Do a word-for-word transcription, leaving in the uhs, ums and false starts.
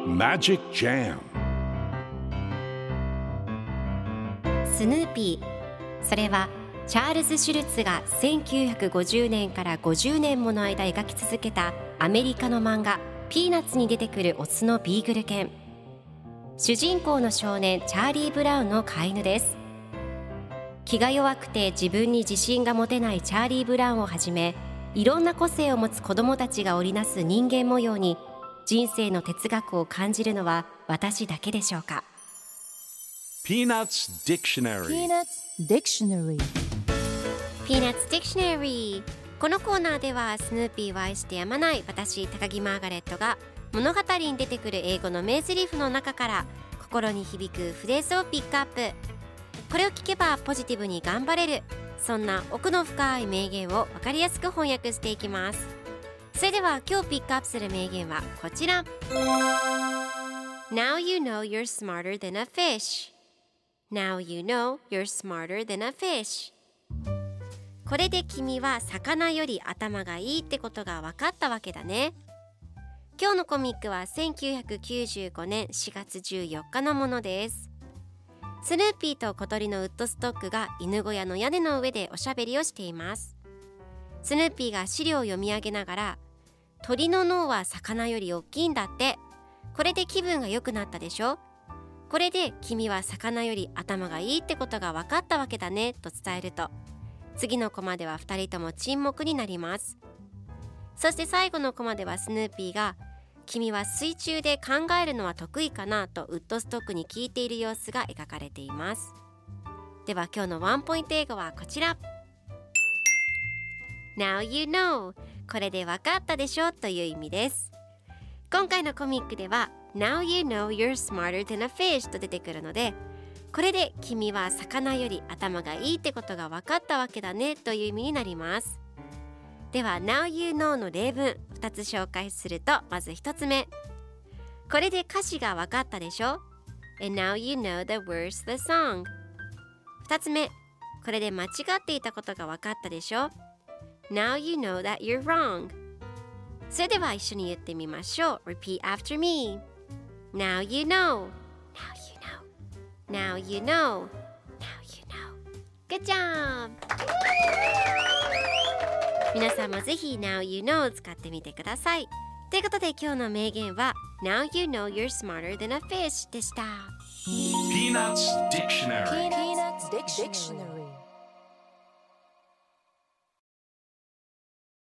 Magic Jam スヌーピー、それはチャールズ・シュルツがせんきゅうひゃくごじゅうねんからごじゅうねんもの間描き続けたアメリカの漫画ピーナッツに出てくるオスのビーグル犬。主人公の少年チャーリー・ブラウンの飼い犬です。気が弱くて自分に自信が持てないチャーリー・ブラウンをはじめ、いろんな個性を持つ子どもたちが織りなす人間模様に人生の哲学を感じるのは私だけでしょうか。 Peanuts Dictionary Peanuts Dictionary Peanuts Dictionary。 このコーナーではスヌーピーを愛してやまない私高木マーガレットが物語に出てくる英語の名台詞の中から心に響くフレーズをピックアップ。これを聞けばポジティブに頑張れる、そんな奥の深い名言を分かりやすく翻訳していきます。それでは今日ピックアップする名言はこちら。 Now you know you're smarter than a fish. Now you know you're smarter than a fish. これで君は魚より頭がいいってことが分かったわけだね。今日のコミックはせんきゅうひゃくきゅうじゅうごねんしがつじゅうよっかのものです。スヌーピーと小鳥のウッドストックが犬小屋の屋根の上でおしゃべりをしています。スヌーピーが資料を読み上げながら、鳥の脳は魚より大きいんだって。これで気分が良くなったでしょ。これで君は魚より頭がいいってことが分かったわけだねと伝えると、次のコマではふたりとも沈黙になります。そして最後のコマではスヌーピーが、君は水中で考えるのは得意かなとウッドストックに聞いている様子が描かれています。では今日のワンポイント英語はこちら。 Now you know、 これで分かったでしょという意味です。今回のコミックでは Now you know you're smarter than a fish と出てくるので、これで君は魚より頭がいいってことが分かったわけだねという意味になります。では Now you know の例文ふたつ紹介すると、まずひとつめ、これで歌詞が分かったでしょ。 And now you know the words to the song。 ふたつめ、これで間違っていたことが分かったでしょ。 Now you know that you're wrong。 それでは一緒に言ってみましょう。 Repeat after me。 Now you know。 Now you know。 Now you know。 Now you know。 Good job。皆さんもぜひ Now you know を使ってみてください。ということで今日の名言は Now you know you're smarter than a fish でした。 Peanuts Dictionary Peanuts Dictionary